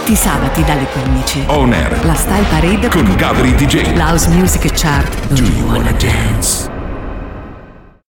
Tutti i sabati dalle 15. On Air. La Style Parade con Gabri DJ. La House Music Chart. Do you wanna dance?